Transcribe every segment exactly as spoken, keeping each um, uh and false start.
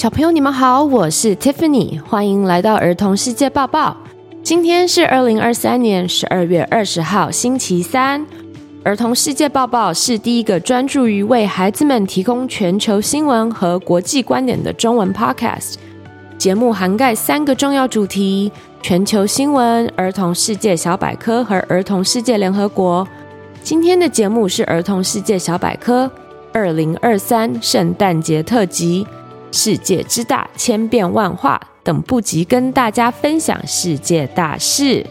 小朋友你們好，我是 Tiffany， 歡迎來到兒童世界報報。今天是二零二三年十二月二十號星期三。兒童世界報報是第一個專注於為孩子們提供全球新聞和國際觀點的中文 podcast。節目涵蓋三個重要主題：全球新聞、兒童世界小百科和兒童世界聯合國。今天的節目是兒童世界小百科二零二三聖誕節特輯，世界之大，千變萬化，等不及跟大家分享世界大事。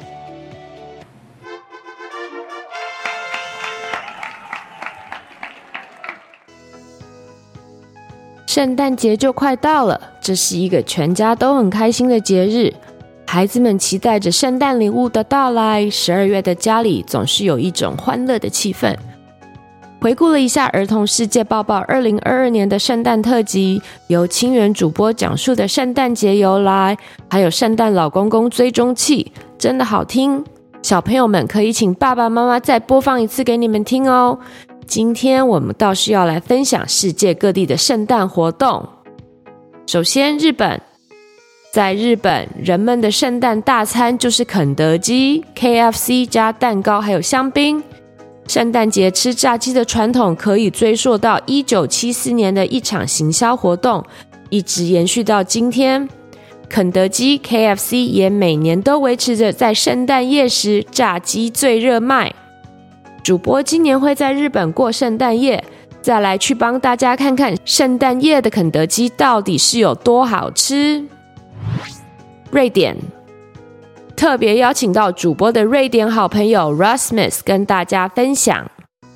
聖誕節就快到了，這是一個全家都很開心的節日。孩子們期待着聖誕禮物的到來，十二月的家裡總是有一種歡樂的氣氛。回顧了一下兒童世界報報二零二二年的聖誕特輯，由清源主播講述的聖誕節由來，還有聖誕老公公追蹤器，真的好聽。小朋友們可以請爸爸媽媽再播放一次給你們聽哦。今天我們倒是要來分享世界各地的聖誕活動。首先，日本。在日本，人們的聖誕大餐就是肯德基、K F C 加蛋糕還有香檳。聖誕節吃炸雞的傳統可以追溯到一九七四年的一場行銷活動，一直延續到今天。肯德基、K F C 也每年都維持着在聖誕夜時炸雞最熱賣。主播今年會在日本過聖誕夜，再來去幫大家看看聖誕夜的肯德基到底是有多好吃。瑞典特別邀請到主播的瑞典好朋友 Rasmus 跟大家分享。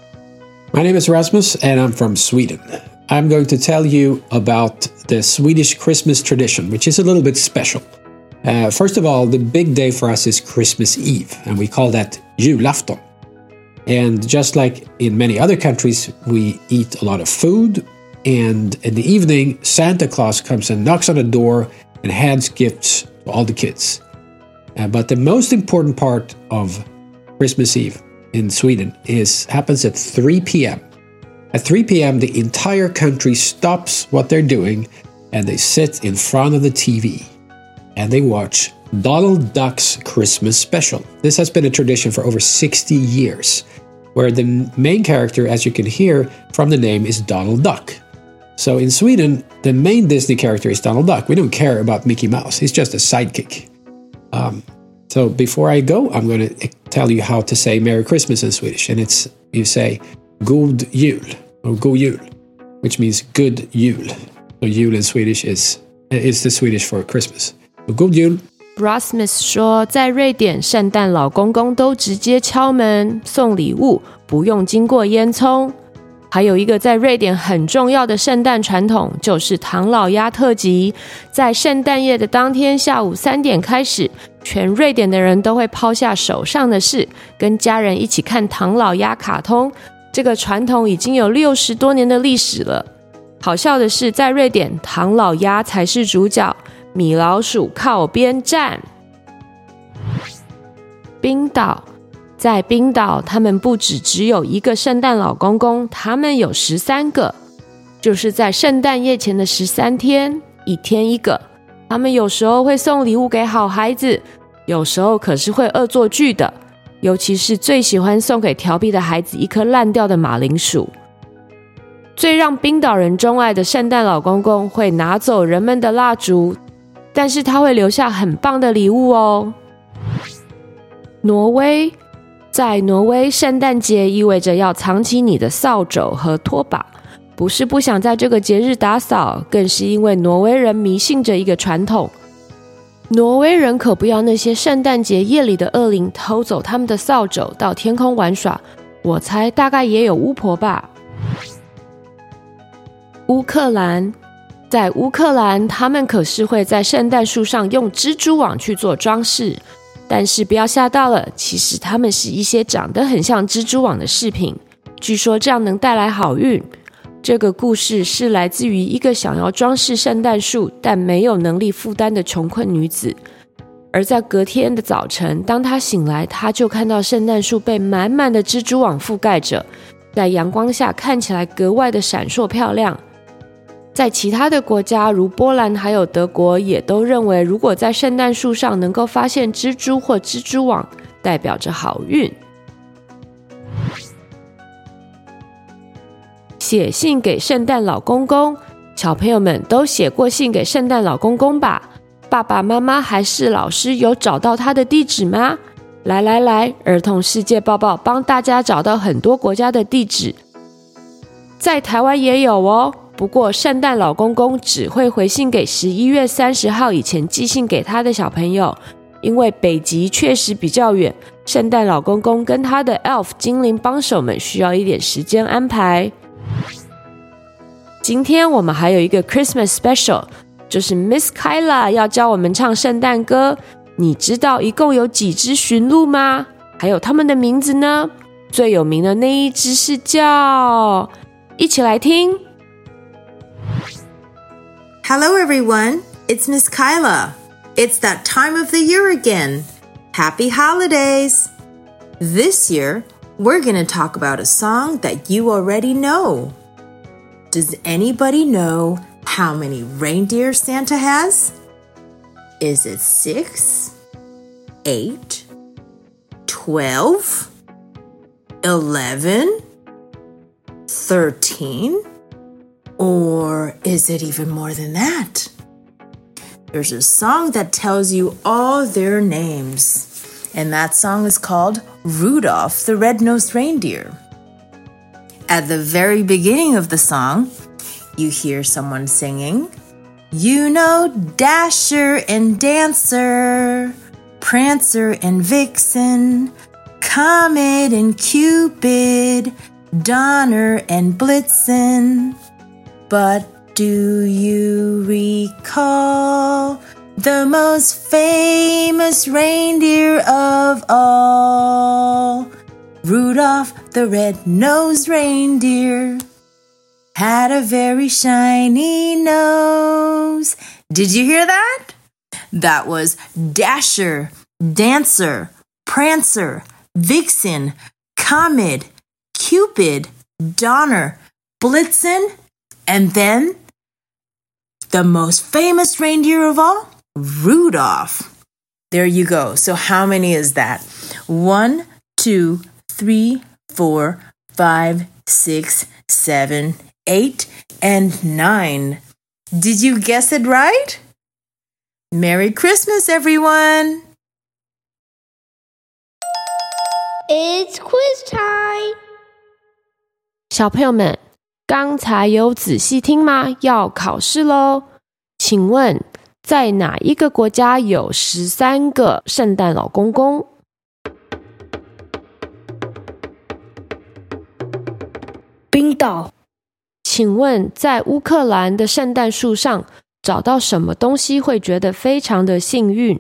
My name is Rasmus and I'm from Sweden. I'm going to tell you about the Swedish Christmas tradition, which is a little bit special. Uh, first of all, the big day for us is Christmas Eve, and we call that julafton. And just like in many other countries, we eat a lot of food, and in the evening, Santa Claus comes and knocks on the door and hands gifts to all the kids. Uh, but the most important part of Christmas Eve in Sweden is happens at three p.m. At three p.m., the entire country stops what they're doing and they sit in front of the T V and they watch Donald Duck's Christmas special. This has been a tradition for over sixty years, where the main character, as you can hear from the name, is Donald Duck. So in Sweden, the main Disney character is Donald Duck. We don't care about Mickey Mouse. He's just a sidekick. Um, so before I go, I'm going to tell you how to say Merry Christmas in Swedish. And it's, you say God jul, or God jul, which means good jul. So jul in Swedish is, is the Swedish for Christmas. So God jul. Rasmus 說，在瑞典，聖誕老公公都直接敲門送禮物，不用經過煙囪。還有一個在瑞典很重要的聖誕傳統，就是唐老鴨特輯。在聖誕夜的當天下午三點開始，全瑞典的人都會拋下手上的事，跟家人一起看唐老鴨卡通。這個傳統已經有六十多年的歷史了。好笑的是，在瑞典，唐老鴨才是主角，米老鼠靠邊站。冰島。在冰島，他們不只只有一個聖誕老公公，他們有十三個，就是在聖誕夜前的十三天，一天一個。他們有時候會送禮物給好孩子，有時候可是會惡作劇的，尤其是最喜歡送給調皮的孩子一顆爛掉的馬鈴薯。最讓冰島人鍾愛的聖誕老公公會拿走人們的蠟燭，但是他會留下很棒的禮物哦。挪威。在挪威，聖誕節意味着要藏起你的掃帚和拖把，不是不想在這個節日打掃，更是因為挪威人迷信着一個傳統。挪威人可不要那些聖誕節夜裡的惡靈偷走他們的掃帚到天空玩耍，我猜大概也有巫婆吧。烏克蘭，在烏克蘭，他們可是會在聖誕樹上用蜘蛛網去做裝飾。但是不要嚇到了，其實它們是一些長得很像蜘蛛網的飾品，據說這樣能帶來好運。這個故事是來自於一個想要裝飾聖誕樹但沒有能力負擔的窮困女子。而在隔天的早晨，當她醒來，她就看到聖誕樹被滿滿的蜘蛛網覆蓋着，在陽光下看起來格外的閃爍漂亮。 在其他的國家，如波蘭還有德國，也都認為如果在聖誕樹上能夠發現蜘蛛或蜘蛛網，代表着好運。寫信給聖誕老公公，小朋友們都寫過信給聖誕老公公吧？爸爸媽媽還是老師有找到他的地址嗎？來來來，兒童世界報報幫大家找到很多國家的地址，在台灣也有哦。不過聖誕老公公只會回信給十一月三十號以前寄信給他的小朋友，因為北極確實比較遠，聖誕老公公跟他的 elf 精靈幫手們需要一點時間安排。今天我們還有一個 Christmas Special， 就是 Miss Kyla 要教我們唱聖誕歌。你知道一共有幾隻馴鹿嗎？還有他們的名字呢？最有名的那一隻是叫……一起來聽。 Hello everyone, it's Miss Kyla. It's that time of the year again. Happy holidays! This year, we're going to talk about a song that you already know. Does anybody know how many reindeer Santa has? Is it six, eight, twelve, eleven, thirteen? Or is it even more than that? There's a song that tells you all their names, and that song is called Rudolph the Red-Nosed Reindeer. At the very beginning of the song, you hear someone singing, "You know Dasher and Dancer, Prancer and Vixen, Comet and Cupid, Donner and Blitzen. But do you recall the most famous reindeer of all? Rudolph the red-nosed reindeer had a very shiny nose." Did you hear that? That was Dasher, Dancer, Prancer, Vixen, Comet, Cupid, Donner, Blitzen, and then the most famous reindeer of all, Rudolph. There you go. So how many is that? One, two, three, four, five, six, seven, eight, and nine. Did you guess it right? Merry Christmas, everyone! It's quiz time! 小朋友們，剛才有仔細聽嗎？要考試咯。請問，在哪一個國家有十三個聖誕老公公？ 冰島。 請問，在烏克蘭的聖誕樹上找到什麼東西會覺得非常的幸運？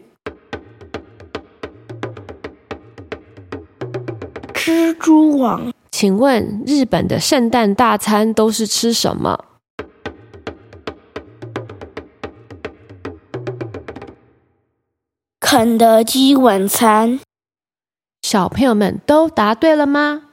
蜘蛛網。 請問，日本的聖誕大餐都是吃什麼？ 肯德基晚餐。 小朋友們都答對了嗎？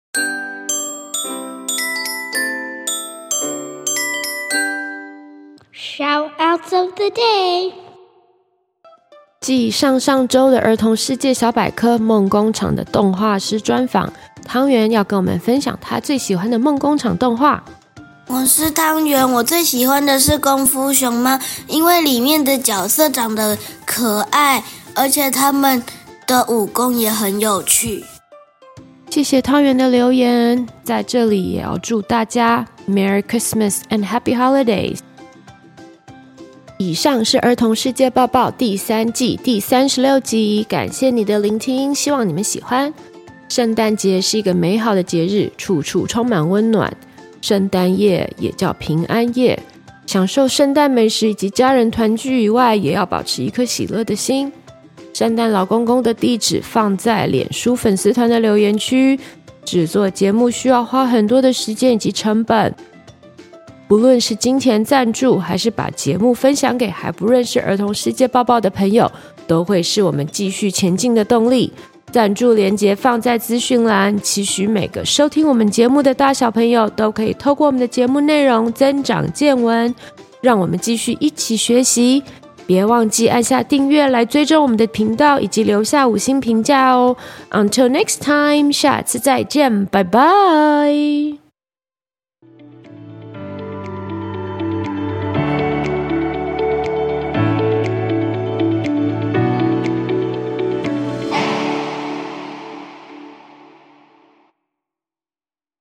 Shout-outs of the day。 繼上上周的兒童世界小百科夢工廠的動畫師專訪，湯圓要跟我們分享他最喜歡的夢工廠動畫。 我是湯圓，我最喜歡的是功夫熊貓，因為裡面的角色長得可愛，而且他們的武功也很有趣。 謝謝湯圓的留言，在這裡也要祝大家 Merry Christmas and Happy Holidays。以上是兒童世界報報第三季第三十六集，感謝你的聆聽，希望你們喜歡。聖誕節是一個美好的節日，處處充滿溫暖。聖誕夜也叫平安夜，享受聖誕美食以及家人團聚以外，也要保持一顆喜樂的心。聖誕老公公的地址放在臉書粉絲團的留言區。製作節目需要花很多的時間以及成本，不論是金錢贊助，還是把節目分享給還不認識兒童世界報報的朋友，都會是我們繼續前進的動力。 贊助連結放在資訊欄，期許每個收聽我們節目的大小朋友都可以透過我們的節目內容增長見聞，讓我們繼續一起學習。別忘記按下訂閱來追蹤我們的頻道，以及留下五星評價哦。Until next time，下次再見，拜拜。